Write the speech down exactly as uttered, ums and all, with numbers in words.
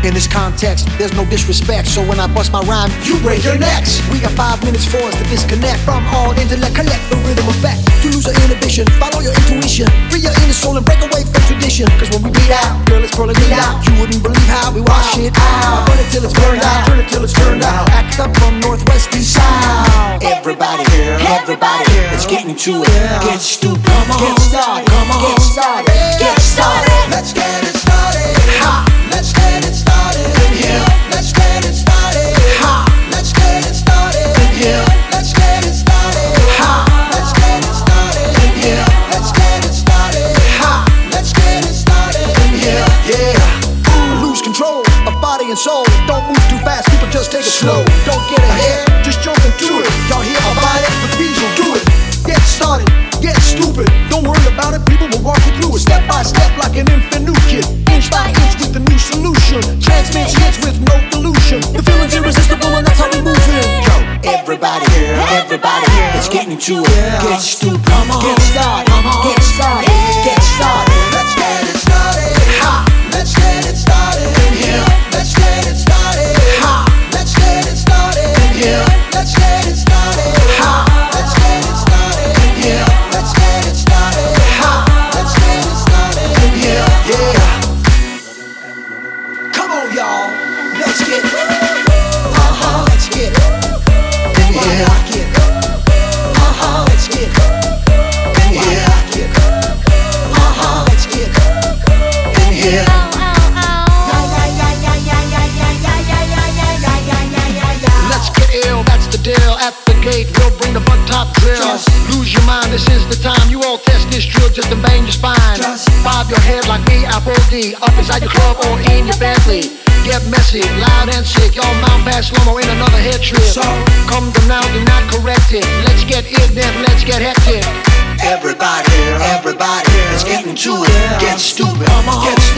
In this context, there's no disrespect, so when I bust my rhyme, you break your necks. We got five minutes for us to disconnect from all intellect, collect the rhythm effect. To lose your inhibition, follow your intuition, free your inner soul and break away from tradition. Cause when we bleed out, girl, it's pulling it out. You wouldn't believe how we wash it out. Burn it till it's burned out, turn it till it's turned out. Act up from northwest to south. Everybody here, everybody here, let's get into it. Get stupid, get started, come on, get started, get started. Let's get it started. Ha! Let's get it started in here. Let's get it started. Ha! Let's get it started in here. Let's get it started. Ha! Let's get it started in here. Let's get it started. Ha! Let's get it started in here. Yeah. Lose control of body and soul. Don't move too fast, people just take it slow. Don't get ahead, just jump into it. Y'all hear about it? The bees will do it. Get started, get stupid. Don't worry about it, people will walk you through it. Step by step like an infant new kid. Inch by inch with the new solution. Transmits hits with no pollution. The feeling's irresistible and that's how we move in. Yo, everybody here, everybody here, let's get into it. Get stupid, get started, get started, get started. Let's get it started. Ha! Let's get it started in here. Let's get it started. Ha! Let's get it started in here. Let's get it started. Ha! Let's get it started in here. Let's get it started. Ha! Let's get it started in here. Yeah. Come on, y'all. Let's get it. Uh-huh. Let's get it. In here. I like it. Uh-huh. Let's get it. In here. I like it. Uh-huh. Let's get it. In here. Let's get ill, that's the deal. At the gate, we'll bring the butt top drill. Just lose your mind, this is the time. You all test this drill just to bang your spine. Just bob your head like me, Apple D. Up inside your club or in your Bentley. Get messy, loud and sick. Y'all mount fast slow-mo in another head trip. So come to now, do not correct it. Let's get it, then let's get hectic. everybody here, everybody here, let's get into it. Get stupid, get